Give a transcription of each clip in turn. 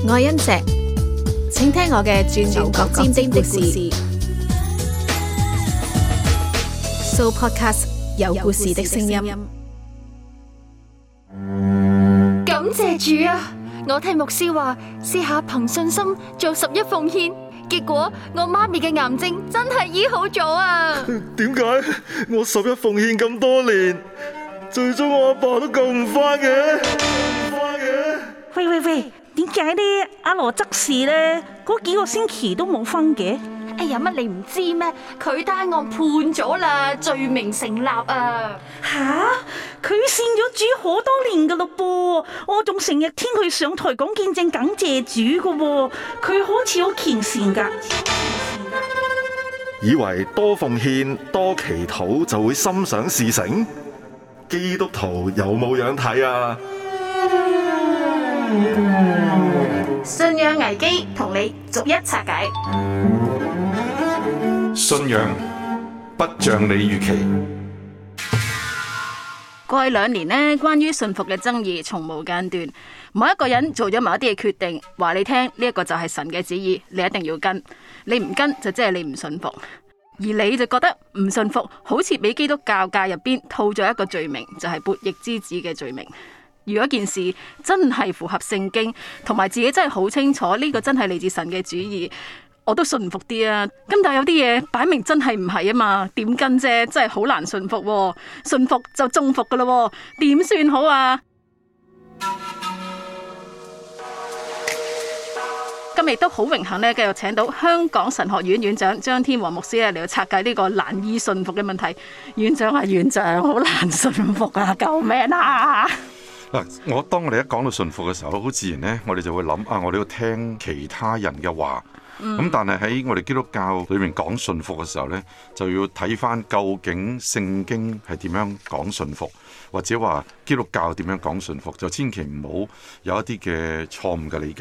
愛恩石，請聽我嘅轉轉角尖尖的故事。So Podcast 有故事的聲音。 感謝主啊！我聽牧師話，試下憑信心做11奉獻，結果我媽咪嘅癌症真係醫好咗啊！ 點解我11奉獻咁多年，最終我阿爸都救唔返嘅？ 喂，點解呢？阿羅執事呢？嗰幾個星期都冇分嘅？ 哎呀，乜你唔知咩？佢單案判咗啦，罪名成立啊！ 吓，佢信咗主好多年噶咯噃，我仲成日聽佢上台講見證感謝主噶喎，佢好似好虔誠噶。 以為多奉獻多祈禱就會心想事成？基督徒有冇樣睇啊？ 信仰危機同你逐一拆解。 信仰不像你預期。 過去2年呢，關於信服嘅爭議從無間斷。某一個人做咗某一啲嘅決定，話你聽呢一個就係神嘅旨意，你一定要跟。你唔跟就即係你唔信服，而你就覺得唔信服，好似俾基督教界入邊套咗一個罪名，就係悖逆之子嘅罪名。如果件事真係符合聖經，同埋自己真係好清楚呢個真係嚟自神嘅旨意，我都信服啲啊。咁但係有啲嘢擺明真係唔係啊嘛，點跟啫？真係好難信服喎，信服就中伏噶咯，點算好啊？今日亦都好榮幸咧，繼續請到香港神學院院長張天和牧師嚟到拆解呢個難以信服嘅問題。院長啊，院長，好難信服啊，救命啊！ 嗱，當我哋一講到信服嘅時候，好自然呢，我哋就會諗啊，我哋要聽其他人嘅話。咁但係喺我哋基督教裏面講信服嘅時候呢，就要睇翻究竟聖經係點樣講信服，或者話基督教點樣講信服，就千祈唔好有一啲嘅錯誤嘅理解。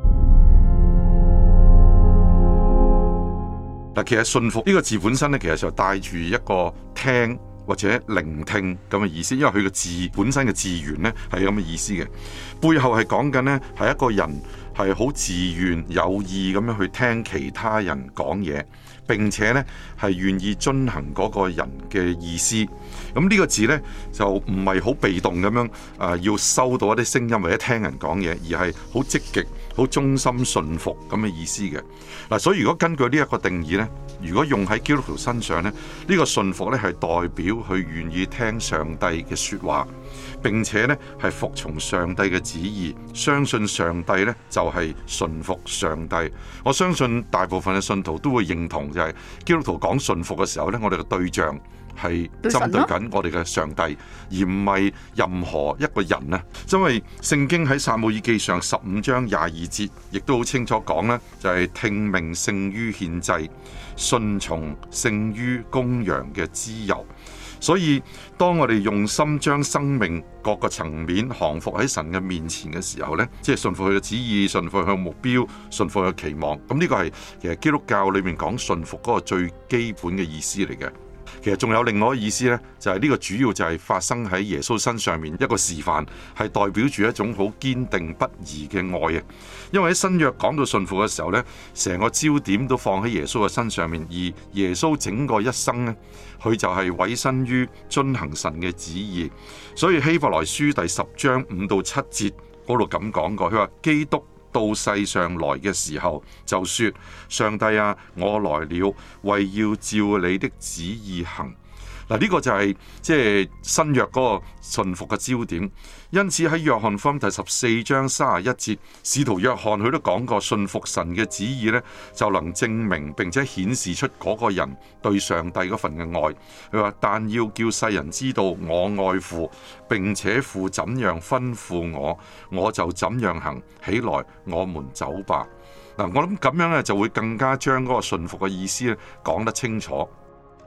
嗱，其實信服呢個字本身呢，其實就帶住一個聽或者聆聽咁嘅意思，因為佢個字本身嘅字源呢係咁嘅意思嘅，背後係講緊呢係一個人係好自願有意咁樣去聽其他人講嘢，並且呢係願意遵行嗰個人嘅意思。咁呢個字呢，就唔係好被動咁樣要收到一啲聲音或者聽人講嘢，而係好積極、好忠心信服咁嘅意思嘅。嗱，所以如果根據呢一個定義呢，如果用喺基督徒身上呢，呢個信服呢係代表佢願意聽上帝嘅說話，並且呢係服從上帝嘅旨意，相信上帝呢就係信服上帝。我相信大部分嘅信徒都會認同，就係基督徒講信服嘅時候呢，我哋嘅對象係針對緊我哋嘅上帝，而唔係任何一個人啊。因為聖經喺撒母耳記上15章22節，亦都好清楚講呢，就係聽命勝於獻祭，順從勝於公羊嘅脂油。所以當我哋用心將生命各個層面降服喺神嘅面前嘅時候呢，即係順服佢嘅旨意，順服佢嘅目標，順服佢嘅期望。咁呢個係其實基督教裏面講順服嗰個最基本嘅意思嚟嘅。其實仲有另外一個意思呢，就係呢個主要就係發生喺耶穌身上面一個示範，係代表住一種好堅定不移嘅愛啊！因為喺新約講到信服嘅時候呢，成個焦點都放喺耶穌嘅身上面，而耶穌整個一生呢，佢就係委身於遵行神嘅旨意。所以希伯來書第10章5到7節嗰度咁講過，佢話基督到世上來嘅時候，就說：上帝啊，我來了，為要照你的旨意行。嗱，呢個就係即係新約嗰個信服嘅焦點。因此喺約翰福音第14章31節，使徒約翰佢都講過，信服神嘅旨意呢，就能證明並且顯示出嗰個人對上帝嗰份嘅愛。佢話：但要叫世人知道我愛父，並且父怎樣吩咐我，我就怎樣行。起來，我們走吧。嗱，我諗咁樣咧就會更加將嗰個信服嘅意思咧講得清楚。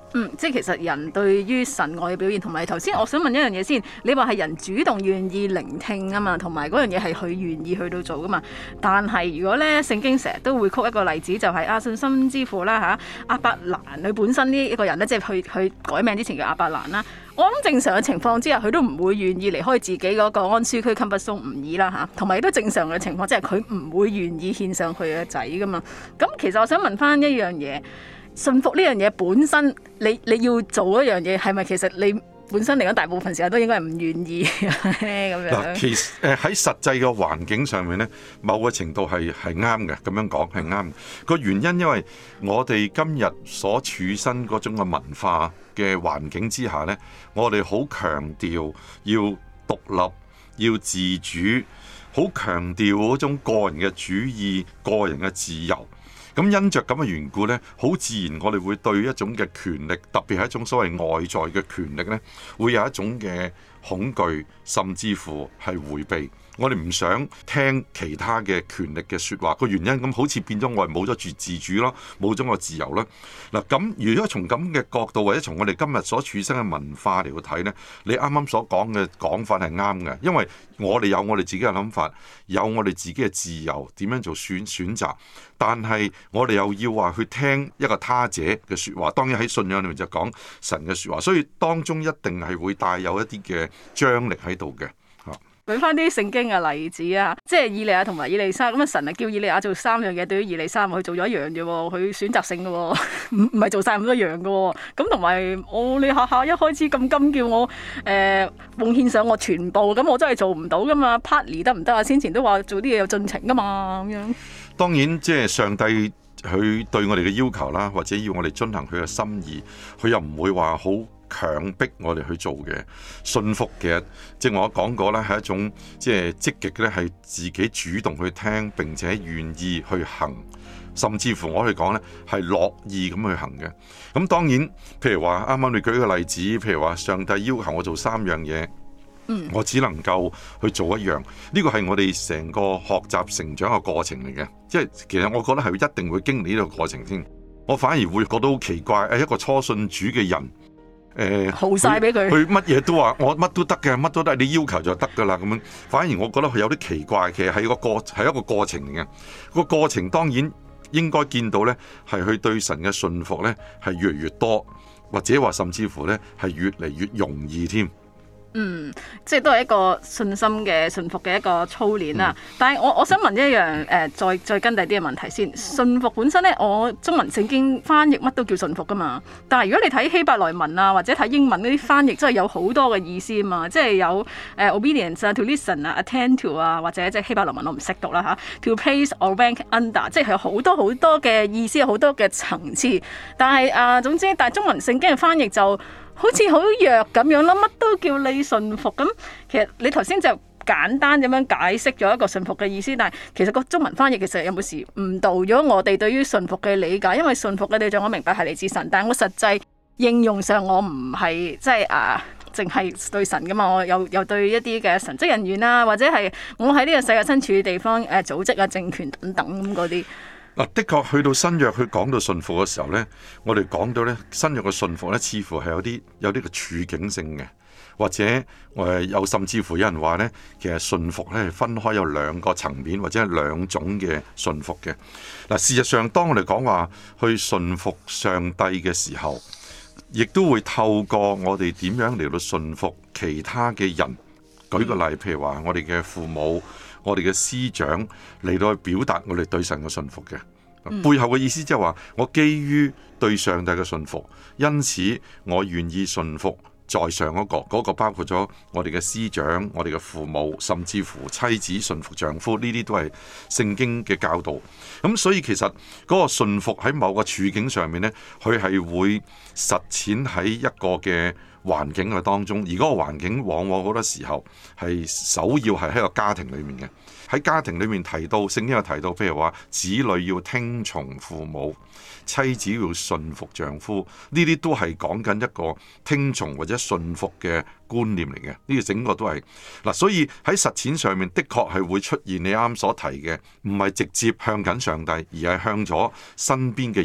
即係其實人對於神愛嘅表現，同埋頭先我想問一樣嘢先，你話係人主動願意聆聽啊嘛，同埋嗰樣嘢係佢願意去到做噶嘛。但係如果咧聖經成日都會曲一個例子，就係信心之父啦嚇，亞伯蘭佢本身呢一個人咧，即係佢改名之前叫亞伯蘭啦。我諗正常嘅情況之下，佢都唔會願意離開自己嗰個安舒區 comfort zone 唔易啦嚇，同埋亦都正常嘅情況，即係佢唔會願意獻上佢嘅仔噶嘛。咁其實我想問翻一樣嘢。信服呢樣嘢本身，你要做一樣嘢，係咪其實你本身嚟講，大部分時候都應該係唔願意咁樣？ 嗱，其實喺實際嘅環境上面咧，某個程度係啱嘅，咁樣講係啱。個原因因為我哋今日所處身嗰種嘅文化嘅環境之下咧，我哋好強調要獨立、要自主，好強調嗰種個人嘅主義、個人嘅自由。咁因着咁嘅緣故呢，好自然我哋會對一種嘅權力，特別係一種所謂外在嘅權力呢，會有一種嘅恐懼，甚至乎係迴避。我哋唔想聽其他嘅權力嘅説話，個原因咁好似變咗我哋冇咗住自主咯，冇咗個自由啦。嗱，咁如果從咁嘅角度，或者從我哋今日所處身嘅文化嚟到睇呢，你啱啱所講嘅講法係啱嘅，因為我哋有我哋自己嘅諗法，有我哋自己嘅自由點樣做選擇，但係我哋又要話去聽一個他者嘅説話。當然喺信仰裏面就講神嘅説話，所以當中一定係會帶有一啲嘅張力喺度嘅。 舉翻啲聖經嘅例子啊，即係以利亞同埋以利沙咁啊，神啊叫以利亞做3樣嘢，對於以利沙佢做咗一樣啫，佢選擇性嘅，唔係做晒咁多樣嘅。咁同埋你下下一開始咁金叫我奉獻上我全部，咁我真係做唔到噶嘛 partly 得唔得啊？先前都話做啲嘢有進程噶嘛，咁樣。當然即係上帝佢對我哋嘅要求啦，或者要我哋遵行佢嘅心意，佢又唔會話好強迫我哋去做嘅。信服嘅，即係我講過咧，係一種即係積極咧，係自己主動去聽並且願意去行，甚至乎我哋講咧係樂意咁去行嘅。咁當然，譬如話啱啱你舉個例子，譬如話上帝要求我做3樣嘢，我只能夠去做一樣，呢個係我哋成個學習成長嘅過程嚟嘅。即係其實我覺得係一定會經歷呢個過程先。我反而會覺得好奇怪，一個初信主嘅人， 好晒俾佢， 佢乜嘢都話我乜都得嘅，乜都得，你要求就得噶啦咁樣。反而我覺得佢有啲奇怪，其實係一個過程嚟嘅。個過程當然應該見到呢，係佢對神嘅信服呢係越嚟越多，或者話甚至乎呢係越嚟越容易添。 即係都係一個信心嘅信服嘅一個操練啦。但係我想問一樣再跟第啲嘅問題先。信服本身咧，我中文聖經翻譯乜都叫信服噶嘛。但係如果你睇希伯來文啊，或者睇英文嗰啲翻譯，真係有好多嘅意思啊嘛。即係有obedience 啊 ，to listen 啊 ，attend to 啊，或者即係希伯來文我唔識讀啦嚇。to place or rank under， 即係有好多好多嘅意思，好多嘅層次。但係總之，但係中文聖經嘅翻譯就好似好弱咁樣啦，乜都叫你信服咁。其實你頭先就簡單咁樣解釋咗一個信服嘅意思，但係其實個中文翻譯其實有冇時誤導咗我哋對於信服嘅理解？因為信服嘅對象我明白係嚟自神，但係我實際應用上我唔係即係淨係對神噶嘛，我又對一啲嘅神職人員啊，或者係我喺呢個世界身處嘅地方組織啊、政權等等咁嗰啲。 的確去到新約，佢講到信服嘅時候呢，我哋講到呢新約嘅信服呢，似乎係有啲嘅處境性嘅，或者有甚至乎有人話呢，其實信服呢係分開有2個層面，或者係2種嘅信服嘅。嗱，事實上當我哋講話去信服上帝嘅時候，亦都會透過我哋點樣嚟到信服其他嘅人。舉個例，譬如話我哋嘅父母、我哋嘅師長嚟到去表達我哋對神嘅信服嘅。背後嘅意思即係話，我基於對上帝嘅信服，因此我願意信服在上嗰個包括咗我哋嘅師長、我哋嘅父母，甚至乎妻子信服丈夫，呢啲都係聖經嘅教導。咁所以其實嗰個信服喺某個處境上面呢，佢係會實踐喺一個嘅環境嘅當中，而嗰個環境往往好多時候係首要係喺個家庭裏面嘅。喺家庭裏面提到，聖經有提到，譬如話子女要聽從父母，妻子要順服丈夫，呢啲都係講緊一個聽從或者順服嘅觀念嚟嘅。呢個整個都係嗱，所以喺實踐上面的確係會出現你啱所提嘅，唔係直接向緊上帝，而係向咗身邊嘅人。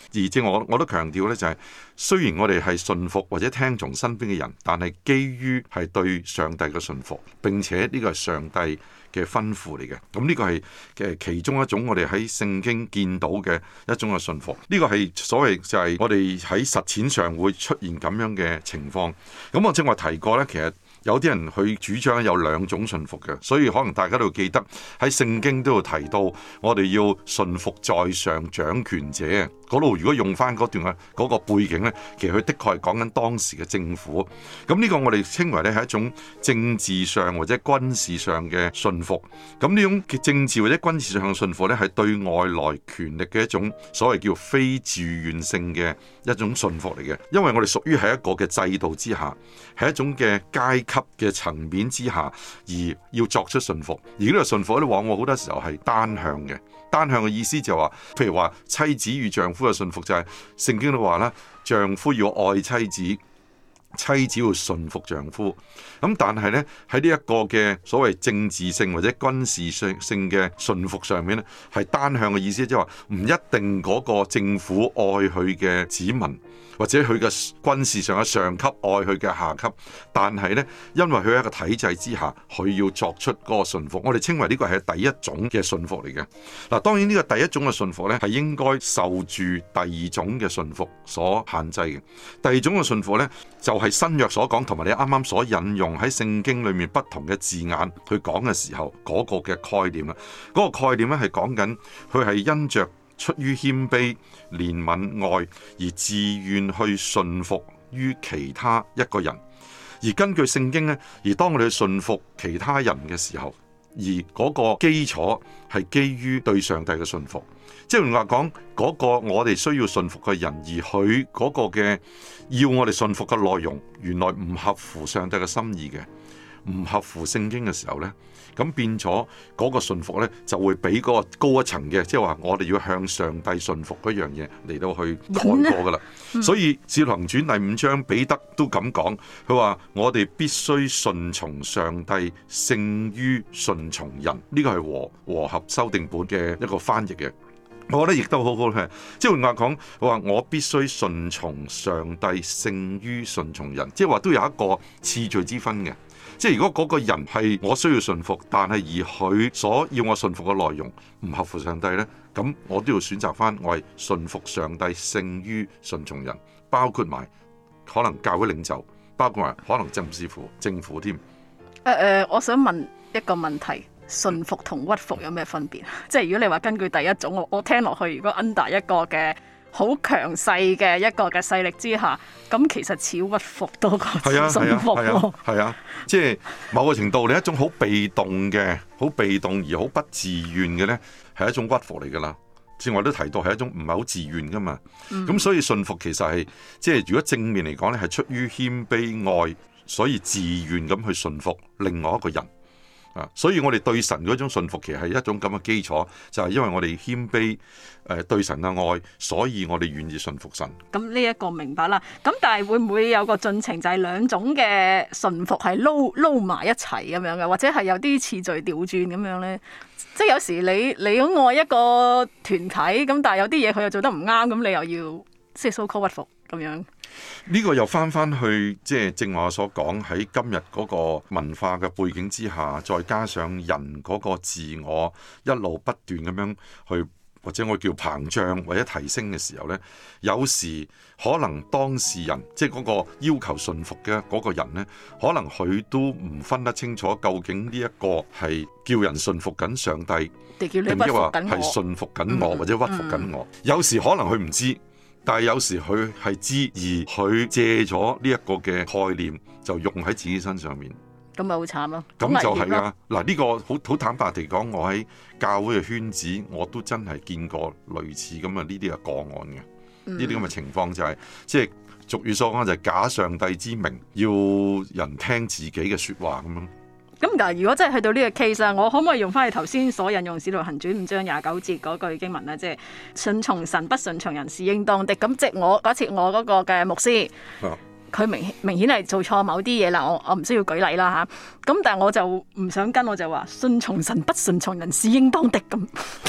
而正我都強調呢，就係雖然我哋係信服或者聽從身邊嘅人，但係基於係對上帝嘅信服，並且呢個係上帝嘅吩咐嚟嘅。咁呢個係嘅其中一種我哋喺聖經見到嘅一種嘅信服。呢個係所謂就係我哋喺實踐上會出現咁樣嘅情況。咁我正話提過呢，其實有啲人去主張有兩種信服嘅，所以可能大家都記得喺聖經都有提到，我哋要信服在上掌權者。嗰度如果用翻嗰段嗰個背景呢，其實佢的確係講緊當時嘅政府。咁呢個我哋稱為咧係一種政治上或者軍事上嘅信服。咁呢種政治或者軍事上嘅信服呢，係對外來權力嘅一種所謂叫非自願性嘅一種信服嚟嘅。因為我哋屬於係一個嘅制度之下，係一種嘅階級嘅層面之下，而要作出信服。而呢個信服咧，往往好多時候係單向嘅。單向嘅意思就係話，譬如話妻子與丈夫嘅信服就係聖經都話啦，丈夫要愛妻子，妻子要順服丈夫。咁但係呢，喺呢一個嘅所謂政治性或者軍事性嘅順服上面呢，係單向嘅意思，即係話唔一定嗰個政府愛佢嘅子民，或者佢嘅軍事上嘅上級愛佢嘅下級，但係呢，因為佢喺一個體制之下，佢要作出嗰個順服。我哋稱為呢個係第一種嘅順服嚟嘅。嗱，當然呢個第一種嘅順服呢，係應該受住第二種嘅順服所限制嘅。第二種嘅順服呢，就係新約所講，同埋你啱啱所引用喺聖經裏面不同嘅字眼去講嘅時候嗰個嘅概念啦。嗰個概念咧係講緊佢係因着出於謙卑、憐憫、愛而自願去順服於其他一個人。而根據聖經呢，而當我哋去順服其他人嘅時候，而嗰個基礎係基於對上帝嘅順服。即係話講嗰個我哋需要順服嘅人，而佢嗰個嘅要我哋順服嘅內容，原來唔合乎上帝嘅心意嘅，唔合乎聖經嘅時候呢，咁變咗嗰個順服呢，就會比嗰個高一層嘅，即係話我哋要向上帝順服嗰樣嘢嚟到去蓋過噶啦。所以《使徒行傳》第5章彼得都咁講，佢話我哋必須順從上帝勝於順從人。呢個係和合修訂本嘅一個翻譯嘅。我覺得亦都好好嘅，即係換話講，我必須順從上帝勝於順從人，即係話都有一個次序之分嘅。即係如果嗰個人係我需要順服，但係而佢所要我順服嘅內容唔合乎上帝呢，咁我都要選擇翻我係順服上帝勝於順從人，包括埋可能教會領袖，包括埋可能政府添。 我想問一個問題。順服同屈服有咩分別？即係如果你話根據第一種，我聽落去，如果 under 一個嘅好強勢嘅一個嘅勢力之下，咁其實似屈服多過順服。係啊，即係某個程度，你一種好被動嘅、好被動而好不自願嘅呢，係一種屈服嚟噶啦。正話都提到係一種唔係好自願噶嘛。咁所以順服其實係即係如果正面嚟講呢，係出於謙卑愛，所以自願咁去順服另外一個人。所以我哋對神嗰種信服其實係一種咁嘅基礎，就係因為我哋謙卑對神嘅愛，所以我哋願意信服神。 咁呢一個明白啦。咁但係會唔會有個進程，就係兩種嘅信服係撈埋一齊咁樣嘅，或者係有啲次序調轉咁樣呢？即係有時你好愛一個團體，咁但係有啲嘢佢又做得唔啱，咁你又要即係 so called 屈服咁樣。 呢個又翻去即係正話我所講，喺今日嗰個文化嘅背景之下，再加上人嗰個自我一路不斷咁樣去，或者我叫膨脹或者提升嘅時候呢，有時可能當事人即係嗰個要求順服嘅嗰個人呢，可能佢都唔分得清楚究竟呢一個係叫人順服緊上帝，定抑或係順服緊我或者屈服緊我。有時可能佢唔知。但係有時佢係知，而佢借咗呢一個嘅概念就用喺自己身上面， 咁咪好慘咯。 咁就係啦。嗱，呢個好坦白地講，我喺教會嘅圈子，我都真係見過類似咁嘅呢啲嘅個案嘅，呢啲咁嘅情況就係即係俗語所講就係假上帝之名，要人聽自己嘅說話咁樣。 咁但係如果真係去到呢個 case 啊，我可唔可以用翻你頭先所引用《使徒行傳》5章29節嗰句經文咧？即係順從神不順從人是應當的。咁即係我嗰次我嗰個嘅牧師，佢明顯係做錯某啲嘢啦。我唔需要舉例啦嚇。咁但係我就唔想跟，我就話順從神不順從人是應當的咁。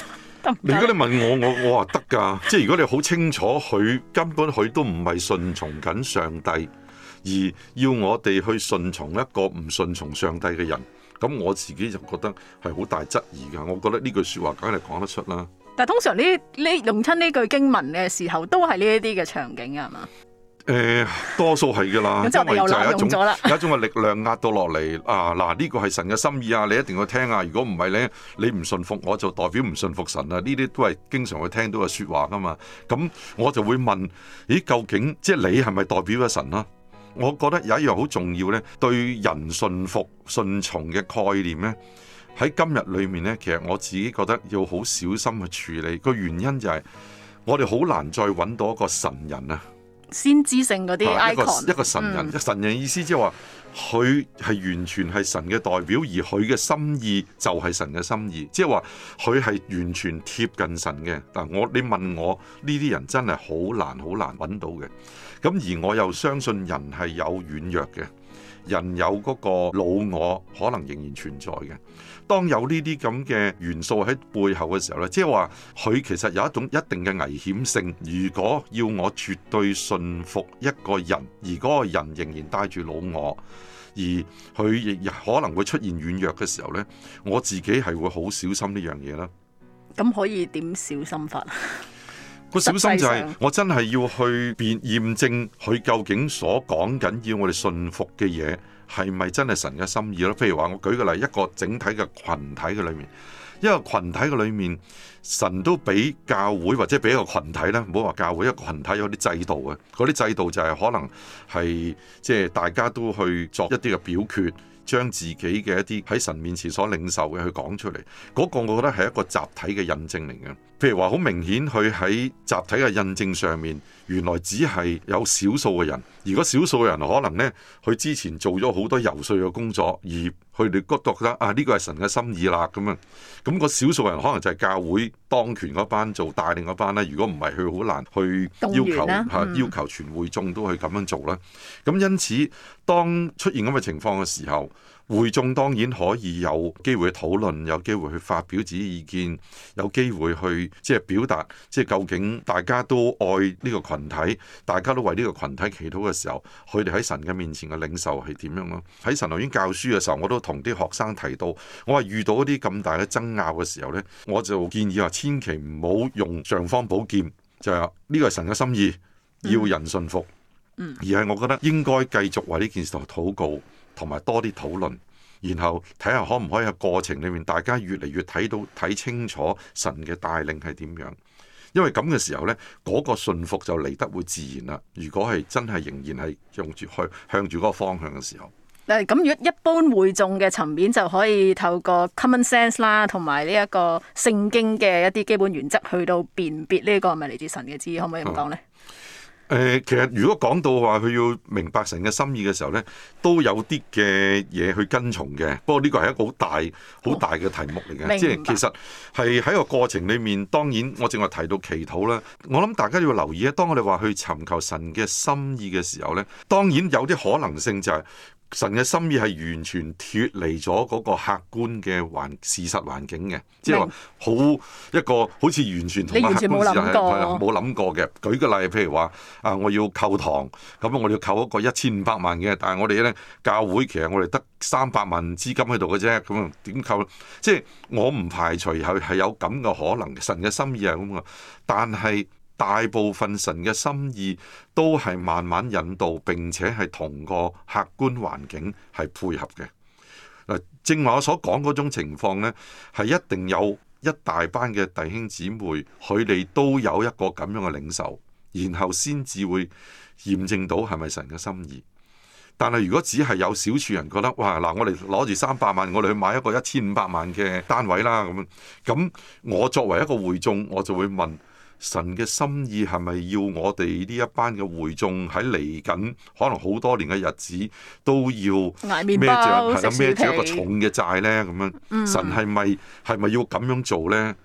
如果你問我話得㗎，即係如果你好清楚佢根本佢都唔係順從緊上帝，而要我哋去順從一個唔順從上帝嘅人，咁我自己就覺得係好大質疑㗎。我覺得呢句説話梗係講得出啦。 但係通常呢用親呢句經文嘅時候，都係呢一啲嘅場景啊，係嘛？ 多數係㗎啦， 咁因為就係有一種嘅力量壓到落嚟啊！嗱，呢個係神嘅心意啊，你一定要聽啊！如果唔係咧，你唔信服我就代表唔信服神啊！呢啲都係經常會聽到嘅説話㗎嘛。咁我就會問：咦，究竟即係你係咪代表咗神啊？我覺得有一樣好重要咧，對人信服順從嘅概念咧，喺今日裏面咧，其實我自己覺得要好小心去處理。個原因就係我哋好難再揾到一個神人啊！ 先知性嗰啲 icon， 一個神人，神人意思即係話佢係完全係神嘅代表，而佢嘅心意就係神嘅心意，即係話佢係完全貼近神嘅。嗱，你問我呢啲人真係好難揾到嘅。咁而我又相信人係有軟弱嘅，人有嗰個老我可能仍然存在嘅。當有呢啲咁嘅元素喺背後嘅時候咧，即係話佢其實有一種一定嘅危險性。如果要我絕對信服一個人，而嗰個人仍然帶住老我，而佢亦可能會出現軟弱嘅時候呢，我自己係會好小心呢樣嘢啦。 咁可以點小心法？ 個小心就係我真係要去驗證佢究竟所講緊要我哋信服嘅嘢係咪真係神嘅心意咯？譬如話我舉個例，一個整體嘅群體嘅裏面，一個群體嘅裏面，神都俾教會或者俾一個群體咧，唔好話教會，一個群體有啲制度嘅，嗰啲制度就係可能係即係大家都去作一啲嘅表決，將自己嘅一啲喺神面前所領受嘅去講出嚟，嗰個我覺得係一個集體嘅印證嚟嘅。譬如話好明顯，佢喺集體嘅印證上面，原來只係有少數嘅人。如果少數嘅人可能呢，佢之前做咗好多游說嘅工作，而佢哋覺得啊呢個係神嘅心意啦咁樣。咁個少數人可能就係教會當權嗰班做帶領嗰班咧。如果唔係，佢好難去要求全會眾都去咁樣做啦。咁因此，當出現咁嘅情況嘅時候，會眾當然可以有機會去討論，有機會去發表自己意見，有機會去即係表達，即係究竟大家都愛呢個群體，大家都為呢個群體祈禱嘅時候，佢哋喺神嘅面前嘅領受係點樣咯？喺神學院教書嘅時候，我都同啲學生提到，我話遇到一啲咁大嘅爭拗嘅時候呢，我就建議話千祈唔好用尚方寶劍，就係呢個係神嘅心意，要人信服，而係我覺得應該繼續為呢件事禱告。同埋多啲討論，然後睇下可唔可以喺過程裏面，大家越嚟越睇清楚神嘅帶領係點樣。因為咁嘅時候呢，嗰個信服就嚟得會自然啦。如果係真係仍然係向住嗰個方向嘅時候， 咁如果一般會眾嘅層面就可以透過 common sense 啦，同埋呢一個聖經嘅一啲基本原則去到辨別呢個係咪嚟自神嘅旨意，可唔可以咁講呢？ 其實如果講到話佢要明白神嘅心意嘅時候呢，都有啲嘅嘢去跟從嘅。不過呢個係一個好大嘅題目嚟嘅，即係其實係喺個過程裏面，當然我正話提到祈禱啦。我諗大家要留意咧，當我哋話去尋求神嘅心意嘅時候呢，當然有啲可能性就係神嘅心意係完全脫離咗嗰個客觀嘅事實環境嘅，即係話一個好似完全同客觀事實係冇諗過嘅。舉個例，譬如話我要購堂，咁我哋要購一個1500萬嘅，但係我哋咧教會其實我哋得300萬資金喺度嘅啫，咁點購？即係我唔排除係有咁嘅可能，神嘅心意係咁嘅，但係大部分神嘅心意都係慢慢引導，並且係同個客觀環境係配合嘅。正話我所講嗰種情況呢，係一定有一大班嘅弟兄姊妹，佢哋都有一個咁樣嘅領受，然後先至會驗證到係咪神嘅心意。但係如果只係有少數人覺得，哇嗱，我哋攞住300萬，我哋去買一個1500萬嘅單位啦，咁我作為一個會眾，我就會問。神嘅心意係咪要我哋呢一班嘅會眾喺嚟緊可能好多年嘅日子都要孭住一個重嘅債呢？咁樣神係咪要咁樣做呢？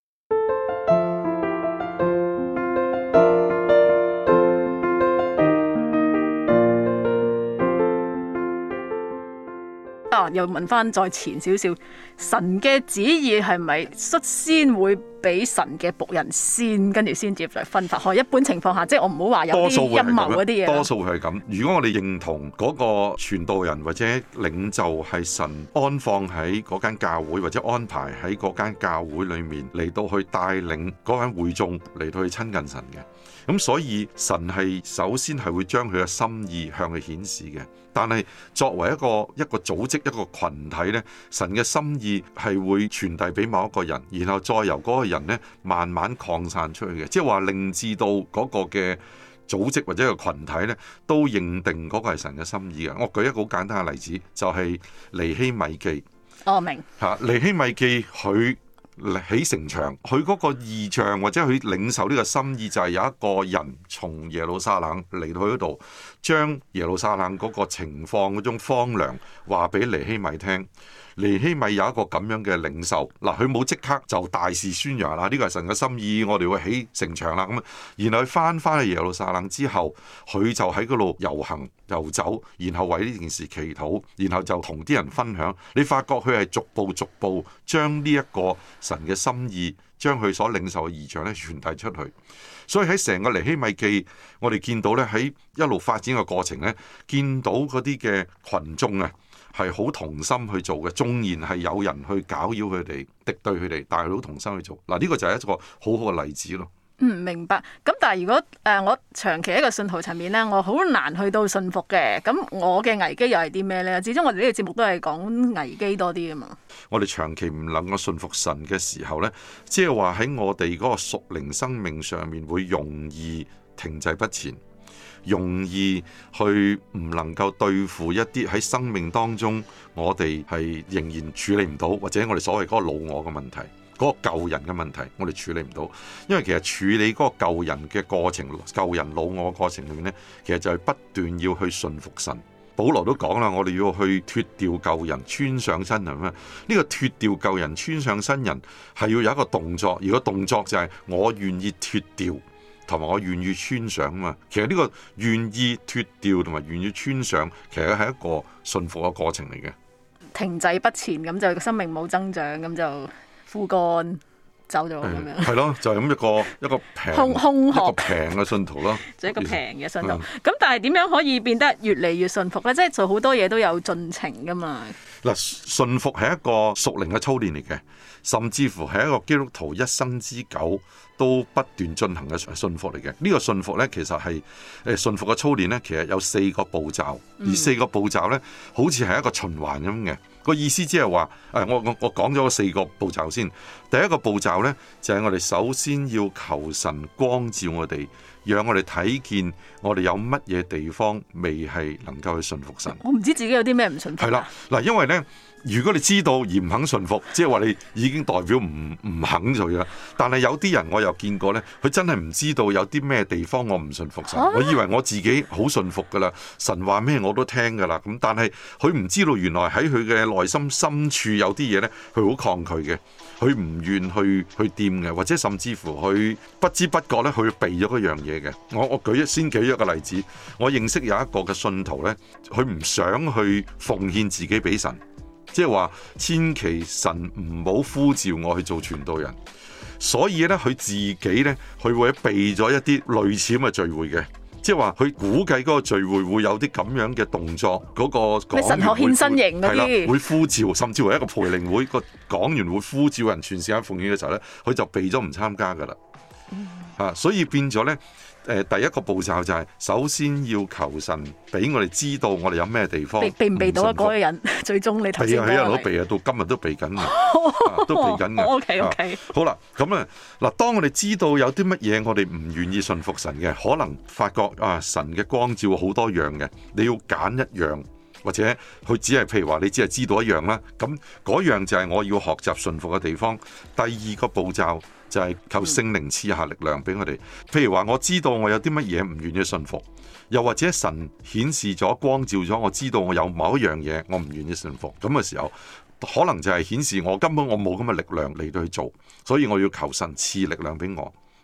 又問翻再前少少，神嘅旨意係咪率先會俾神嘅僕人先，跟住先至再分發開。一般情況下，即係我唔好話有啲陰謀嗰啲嘢。 多數係咁。如果我哋認同嗰個傳道人或者領袖係神安放喺嗰間教會，或者安排喺嗰間教會裏面嚟到去帶領嗰間會眾嚟到去親近神嘅。咁所以神係首先係會將佢嘅心意向佢顯示嘅，但係作為一個組織一個群體呢，神嘅心意係會傳遞俾某一個人，然後再由嗰個人呢慢慢擴散出去嘅，即係話令至到嗰個嘅組織或者個群體呢都認定嗰個係神嘅心意嘅。我舉一個好簡單嘅例子，就係尼希米記。 我明尼希米記佢起城牆，佢嗰個異象或者佢領受呢個心意，就係有一個人從耶路撒冷嚟到去嗰度，將耶路撒冷嗰個情況嗰種荒涼話俾尼希米聽。尼希米有一個咁樣嘅領受，嗱，佢冇即刻就大肆宣揚啦，呢個係神嘅心意，我哋會起城牆啦咁。然後佢翻去耶路撒冷之後，佢就喺嗰度遊行遊走，然後為呢件事祈禱，然後就同啲人分享。你發覺佢係逐步將呢一個神嘅心意，將佢所領受嘅異象咧傳遞出去。所以喺成個尼希米記，我哋見到咧喺一路發展嘅過程咧，見到嗰啲嘅群眾啊，係好同心去做嘅，縱然係有人去攪擾佢哋、敵對佢哋，但係都同心去做。嗱，呢個就係一個好好嘅例子咯。 明白。咁但係如果我長期喺一個信徒層面咧，我好難去到信服嘅。咁我嘅危機又係啲咩咧？始終我哋呢個節目都係講危機多啲啊嘛。我哋長期唔能夠信服神嘅時候咧，即係話喺我哋嗰個屬靈生命上面會容易停滯不前，容易去唔能夠對付一啲喺生命當中我哋係仍然處理唔到，或者我哋所謂嗰個老我嘅問題。嗰個救人嘅問題，我哋處理唔到，因為其實處理嗰個救人嘅過程、救人老我嘅過程裏面呢，其實就係不斷要去順服神。保羅都講啦，我哋要去脫掉舊人，穿上新人啊！呢個脫掉舊人，穿上新人係要有一個動作，而個動作就係我願意脫掉，同埋我願意穿上啊嘛。其實呢個願意脫掉同埋願意穿上，其實係一個順服嘅過程嚟嘅。 停滯不前咁就生命冇增長，咁就枯乾走咗咁樣， 係咯，就係咁一個平嘅信徒咯， 就一個平嘅信徒。咁但係點樣可以變得越嚟越順服咧？即係做好多嘢都有進程噶嘛。 嗱，順服係一個屬靈嘅操練嚟嘅，甚至乎係一個基督徒一生之久都不斷進行嘅順服嚟嘅。呢個順服咧，其實係順服嘅操練咧，其實有4個步驟，而4個步驟咧，好似係一個循環咁嘅。個意思即係話，我講咗4個步驟先。第一個步驟呢，就係我哋首先要求神光照我哋，讓我哋睇見我哋有乜嘢地方未係能夠去順服神。 我唔知自己有啲咩唔順服。 係啦，嗱，因為呢，如果你知道而唔肯順服，即係話你已經代表唔肯做嘢。但係有啲人我又見過呢，佢真係唔知道有啲咩地方我唔順服神。我以為我自己好順服噶啦，神話咩我都聽噶啦。咁但係佢唔知道原來喺佢嘅內心深處有啲嘢呢，佢好抗拒嘅，佢唔願去掂嘅，或者甚至乎佢不知不覺咧，佢避咗一樣嘢嘅。我先舉一個例子，我認識有一個嘅信徒呢，佢唔想去奉獻自己俾神，即係話千祈神唔好呼召我去做傳道人，所以呢，佢自己呢，佢會避咗一啲類似咁嘅聚會嘅。即係話佢估計嗰個聚會會有啲咁樣嘅動作，嗰個講員神學獻身型嗰啲會呼召，甚至乎一個培靈會個講員會呼召人全時間奉獻嘅時候咧，佢就避咗唔參加噶啦。所以變咗咧，第一個步驟就係首先要求神俾我哋知道我哋有咩地方避唔避到嗰個人，最終你頭先避啊，都避啊，到今日都避緊都避緊嘅。 OK， 好啦，咁啊嗱，當我哋知道有啲乜嘢我哋唔願意順服神嘅，可能發覺神嘅光照好多樣嘅，你要揀一樣，或者佢只係譬如話你只係知道一樣啦，咁嗰樣就係我要學習順服嘅地方。第二個步驟就係求聖靈賜下力量俾我哋。譬如話我知道我有啲乜嘢唔願意順服，又或者神顯示咗光照咗，我知道我有某一樣嘢我唔願意順服，咁嘅時候可能就係顯示我根本我冇咁嘅力量嚟到去做，所以我要求神賜力量俾我。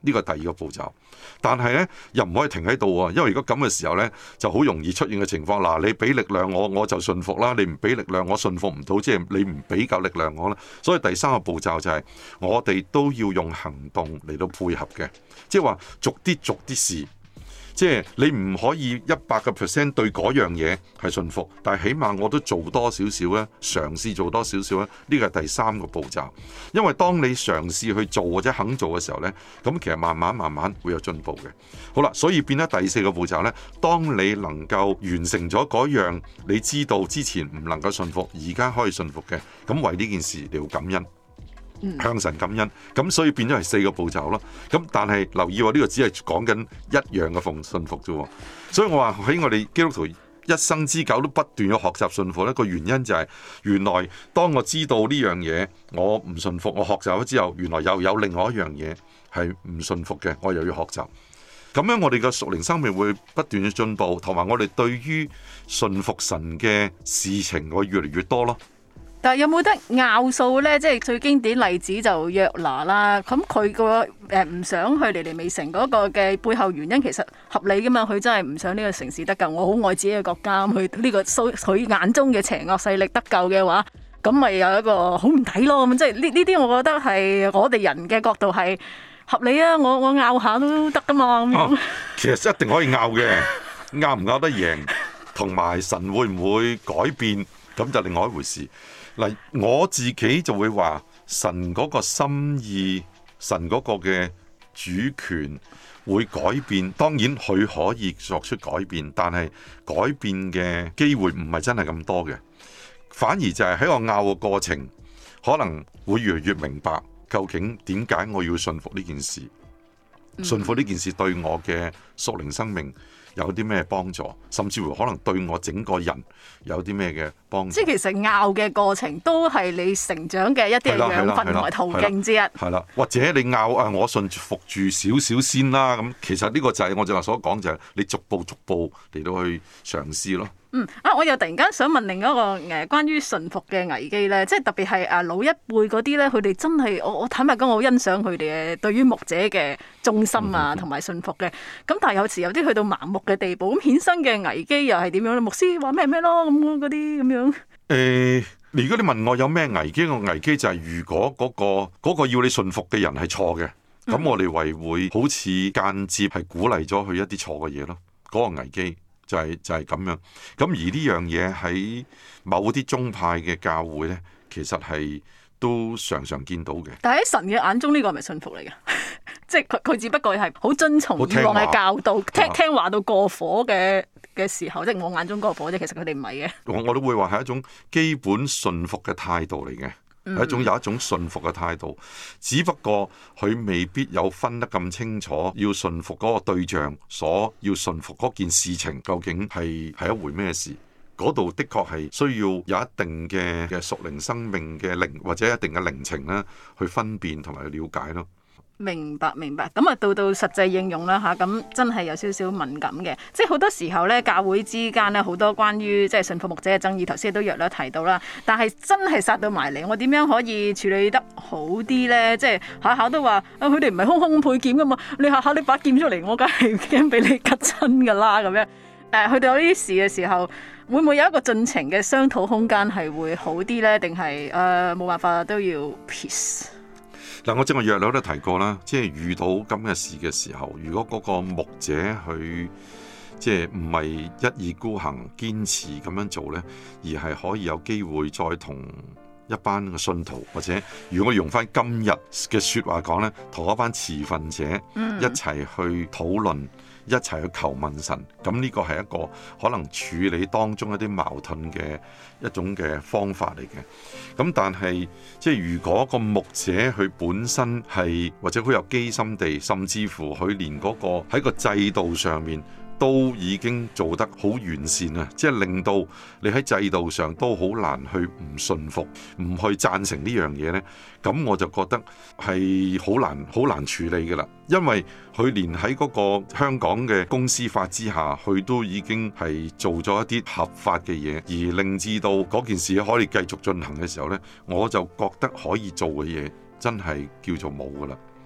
呢個係第二個步驟。但係呢，又唔可以停喺度喎，因為如果咁嘅時候呢，就好容易出現嘅情況。嗱，你俾力量我就順服啦；你唔俾力量我順服唔到，即係你唔俾夠力量我啦。所以第三個步驟就係我哋都要用行動嚟到配合嘅，即係話逐啲試。即係你唔可以100% 對嗰樣嘢係順服，但係起碼我都做多少少咧，嘗試做多少少咧，呢個係第三個步驟。因為當你嘗試去做或者肯做嘅時候呢，咁其實慢慢會有進步嘅。好啦，所以變咗第四個步驟呢，當你能夠完成咗嗰樣你知道之前唔能夠順服，而家可以順服嘅，咁為呢件事你要感恩。向神感恩，咁所以變咗係4個步驟咯。咁但係留意喎，呢個只係講緊一樣嘅順服啫。所以我話喺我哋基督徒一生之久都不斷要學習順服，一個原因就係原來當我知道呢樣嘢我唔順服，我學習咗之後，原來又有另外一樣嘢係唔順服嘅，我又要學習。咁樣我哋嘅屬靈生命會不斷嘅進步，同埋我哋對於順服神嘅事情會越嚟越多咯。 但係有冇得拗數呢？即係最經典例子就約拿啦。咁佢個唔想去尼尼微城嗰個嘅背後原因其實合理噶嘛？佢真係唔想呢個城市得救，我好愛自己嘅國家，佢呢個佢眼中嘅邪惡勢力得救嘅話，咁咪有一個好唔抵咯。咁即係呢啲，我覺得係我哋人嘅角度係合理啊。我拗下都得噶嘛。 其實一定可以拗嘅，拗唔拗得贏，同埋神會唔會改變，咁就另外一回事。嗱，我自己就會話神嗰個心意，神嗰個嘅主權會改變。當然佢可以作出改變，但係改變嘅機會唔係真係咁多嘅。反而就係喺我拗嘅過程，可能會越嚟越明白究竟點解我要順服呢件事，順服呢件事對我嘅屬靈生命有啲咩幫助，甚至乎可能對我整個人有啲咩嘅幫助。即係其實拗嘅過程都係你成長嘅一啲養分同埋途徑之一。係啦，或者你拗我順服住少少先啦。咁其實呢個就係我正話所講，就係你逐步嚟到去嘗試咯。 我又突然間想問另一個關於順服嘅危機咧，即係特別係老一輩嗰啲咧，佢哋真係我坦白講，我好欣賞佢哋嘅對於牧者嘅忠心啊，同埋順服嘅。咁但係有時有啲去到盲目嘅地步，咁衍生嘅危機又係點樣咧？牧師話咩咯，咁嗰啲咁樣。 如果你問我有咩危機，個危機就係如果嗰個要你順服嘅人係錯嘅，咁我哋會好似間接係鼓勵咗佢一啲錯嘅嘢咯。嗰個危機就係咁樣。咁而呢樣嘢喺某啲宗派嘅教會呢，其實係都常常見到嘅。 但係喺神嘅眼中，呢個係咪順服嚟嘅？即係佢只不過係好遵從以往嘅教導，聽話到過火嘅時候，即係我眼中過火啫。其實佢哋唔係嘅。我都會話係一種基本順服嘅態度嚟嘅。有一種順服嘅態度，只不過佢未必有分得咁清楚，要順服嗰個對象，所要順服嗰件事情究竟係一回咩事？嗰度的確係需要有一定嘅屬靈生命嘅靈或者一定嘅靈情啦，去分辨同埋去了解咯。 明白。咁啊，到實際應用啦吓，咁真係有少少敏感嘅，即係好多時候咧，教會之間咧好多關於即係順服牧者嘅爭議，頭先都約略提到啦。但係真係殺到埋嚟，我點樣可以處理得好啲咧？即係下下都話佢哋唔係空配劍噶嘛，你下下你把劍出嚟，我梗係驚俾你吉親噶啦咁樣。去到呢啲事嘅時候，會唔會有一個盡情嘅商討空間係會好啲咧？定係冇辦法都要 peace？ 嗱，我正話約略都提過啦，即係遇到咁嘅事嘅時候，如果嗰個牧者佢即係唔係一意孤行、堅持咁樣做呢，而係可以有機會再同一班嘅信徒，或者如果我用翻今日嘅説話講呢，同一班持份者一齊去討論，一齊去求問神，咁呢個係一個可能處理當中一啲矛盾嘅一種嘅方法嚟嘅。咁但係即係如果個牧者佢本身係或者好有機心地，甚至乎佢連嗰個喺個制度上面都已經做得好完善啊！即係令到你喺制度上都好難去唔順服、唔去贊成呢樣嘢呢。咁我就覺得係好難處理㗎啦。因為佢連喺嗰個香港嘅公司法之下，佢都已經係做咗一啲合法嘅嘢，而令至到嗰件事可以繼續進行嘅時候呢，我就覺得可以做嘅嘢真係叫做冇㗎啦。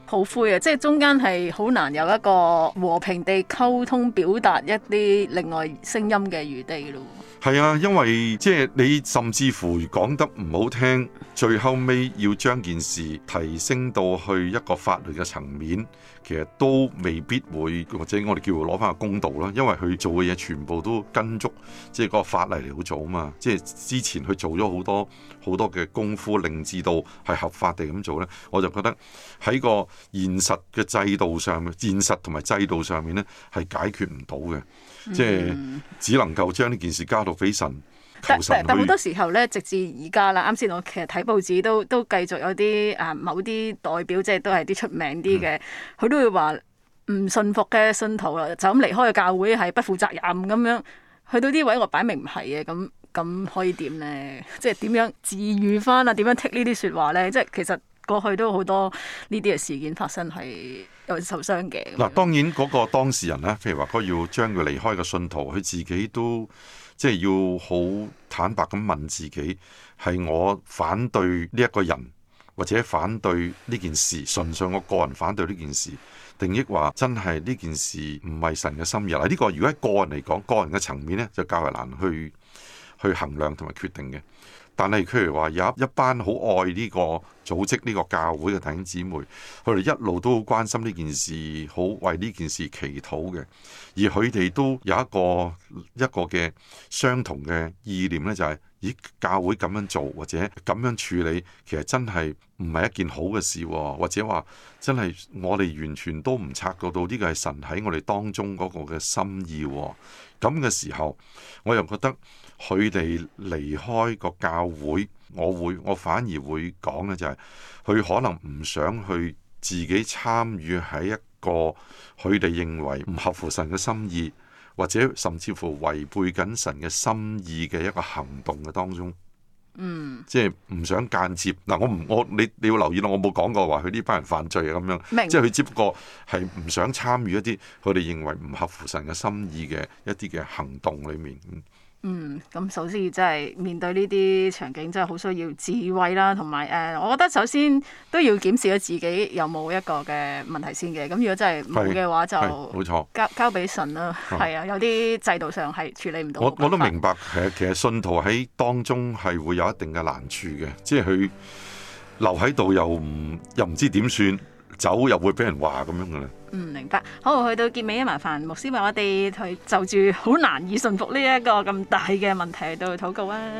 好灰啊！即係中間係好難有一個和平地溝通表達一啲另外聲音嘅餘地咯。 係啊，因為即係你甚至乎講得唔好聽，最後尾要將件事提升到去一個法律嘅層面，其實都未必會，或者我哋叫攞翻個公道啦。因為佢做嘅嘢全部都跟足即係個法例嚟到做啊嘛。即係之前佢做咗好多嘅功夫，令至到係合法地咁做呢。我就覺得喺個現實嘅制度上面，現實同埋制度上面呢，係解決唔到嘅。即係只能夠將呢件事交到俾神，求神去。 但好多時候咧，直至而家啦，啱先我其實睇報紙都繼續有啲某啲代表，即係都係啲出名啲嘅，佢都會話唔信服嘅信徒就咁離開個教會係不負責任咁樣。去到啲位我擺明唔係嘅，咁可以點咧？即係點樣治癒翻啊？點樣剔呢啲説話咧？即係其實過去都好多呢啲嘅事件發生係有受傷嘅。 嗱，當然嗰個當事人咧，譬如話佢要將佢離開嘅信徒，佢自己都即係要好坦白咁問自己，係我反對呢一個人，或者反對呢件事，純粹我個人反對呢件事，定抑話真係呢件事唔係神嘅心意。嗱，呢個如果喺個人嚟講，個人嘅層面咧，就較為難去衡量同埋決定嘅。但係譬如話有一班好愛呢個組織、呢個教會嘅弟兄姊妹，佢哋一路都好關心呢件事，好為呢件事祈禱嘅。而佢哋都有一個嘅相同嘅意念呢，就係咦，教會咁樣做或者咁樣處理，其實真係唔係一件好嘅事，或者話真係我哋完全都唔察覺到呢個係神喺我哋當中嗰個嘅心意。咁嘅時候，我又覺得佢哋離開個教會，我反而會講呢，就係佢可能唔想去自己參與喺一個佢哋認為唔合乎神嘅心意，或者甚至乎違背緊神嘅心意嘅一個行動嘅當中。即係唔想間接嗱，你要留意咯，我冇講過話佢呢班人犯罪啊咁樣，即係佢只不過係唔想參與一啲佢哋認為唔合乎神嘅心意嘅一啲嘅行動裏面。 咁首先真係面對呢啲場景，真係好需要智慧啦，同埋我覺得首先都要檢視咗自己有冇一個嘅問題先嘅。咁如果真係冇嘅話，就冇錯， 交俾神啦。係啊，有啲制度上係處理唔到。 我都明白，其實信徒喺當中係會有一定嘅難處嘅，即係佢留喺度又唔知點算，走又會俾人話咁樣嘅啦。 明白。好，去到結尾，麻煩牧師為我哋去就住好難以順服呢一個咁大嘅問題度禱告啊！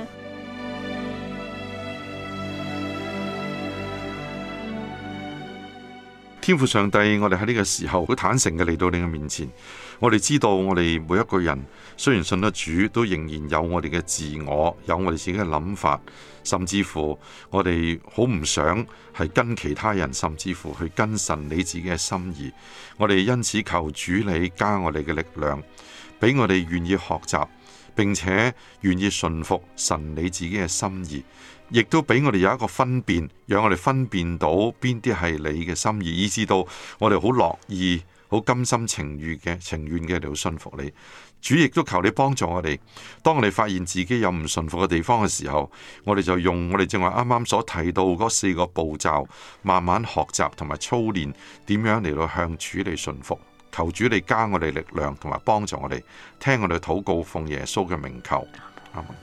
天父上帝，我哋喺呢個時候好坦誠嘅嚟到你嘅面前，我哋知道我哋每一個人雖然信得主，都仍然有我哋嘅自我，有我哋自己嘅諗法，甚至乎我哋好唔想係跟其他人，甚至乎去跟神你自己嘅心意。我哋因此求主你加我哋嘅力量，俾我哋願意學習，並且願意順服神你自己嘅心意。亦都俾我哋有一個分辨，讓我哋分辨到邊啲係你嘅心意，以至到我哋好樂意、好甘心情願嘅嚟到信服你。主亦都求你幫助我哋，當我哋發現自己有唔順服嘅地方嘅時候，我哋就用我哋正話啱啱所提到嗰4個步驟，慢慢學習同埋操練點樣嚟到向主嚟順服。求主你加我哋力量同埋幫助我哋，聽我哋禱告，奉耶穌嘅名求，阿門。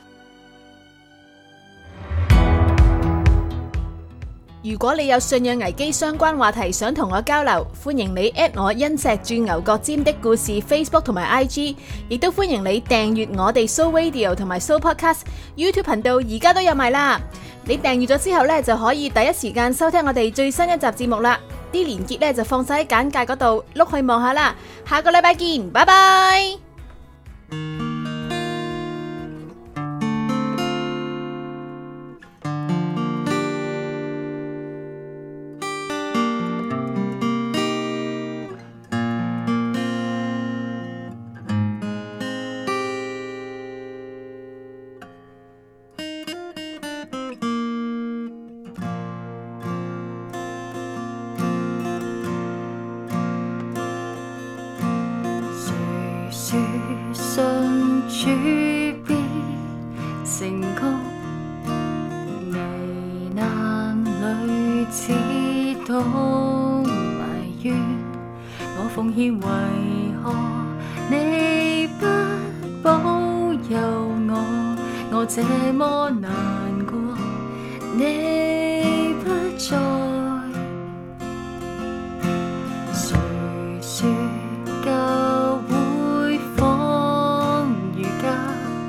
如果你有信仰危機相關話題想同我交流，歡迎你 at 我因石鑽牛角尖的故事 Facebook 同埋 IG， 亦都歡迎你訂閱我哋 Soul Radio 同埋 Soul Podcast YouTube 頻道，而家都有埋啦。你訂閱咗之後呢，就可以第一時間收聽我哋最新一集節目啦。啲連結呢，就放晒喺簡介嗰度，碌去望下啦。下個禮拜見，拜拜。 信主必成功，危難裏只懂願，我奉獻為何你不保佑我？我這麼難過，你不在。誰說教會仿如家，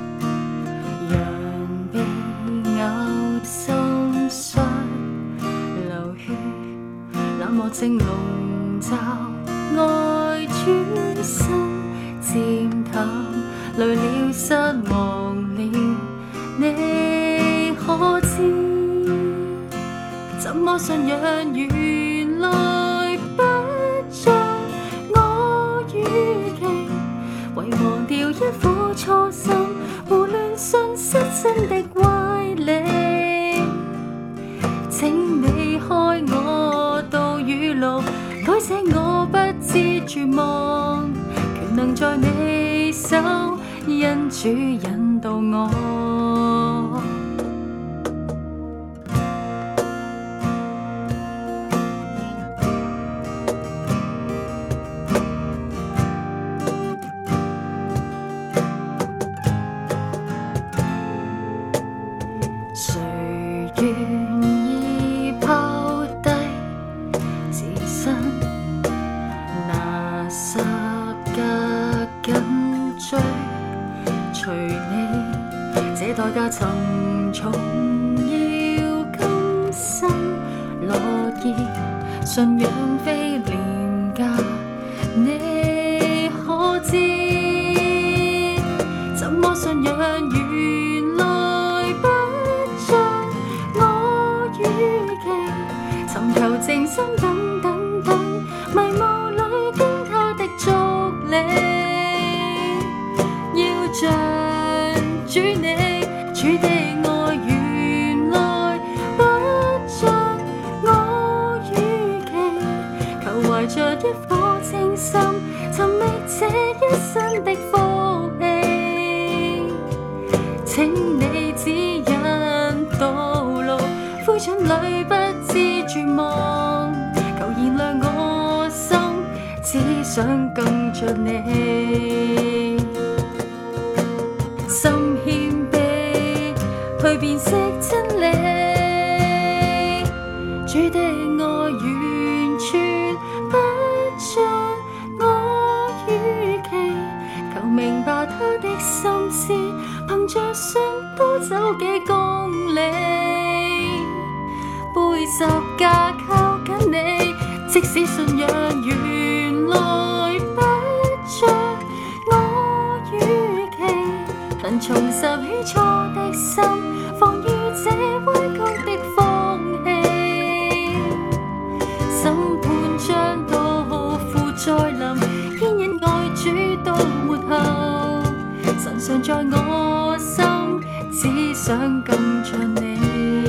人被咬心傷流血，冷漠正籠罩，愛轉身漸淡，累了失望了，你可知？怎麼信仰原來不像我預期，遺忘掉一顆初心，胡亂信失真的歪理。請你開我道與路，改寫我不知絕望，權能在你手，因主引導我。誰願意拋低自身，拿十架緊追，隨你這代價沉重，要甘心樂意，信仰非廉價，你可知？怎麼信仰原來不像我預期，尋求靜心等等等，迷霧裏跟他的足理，要像主你，主的愛原來不像我預期，求懷着一顆清心，尋覓這一生的福氣，請你指引道路，灰燼裏不知絕望，求燃亮我心，只想更像你，心謙卑去辨識真理，主的愛完全不像我預期，求明白他的心思，憑着信多走幾公里，背十架靠緊你，即使信仰原來不像我預期，能重拾起初的心，防禦這歪曲的風氣，審判將到父再臨，牽引愛主到末後，神常在我心，只想更像你。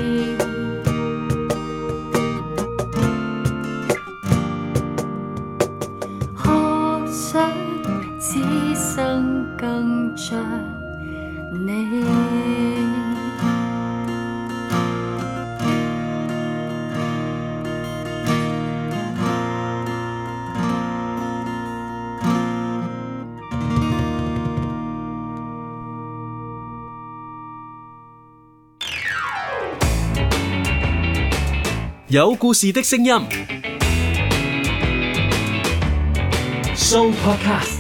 學想此生更像你。 有故事的聲音 Show Podcast。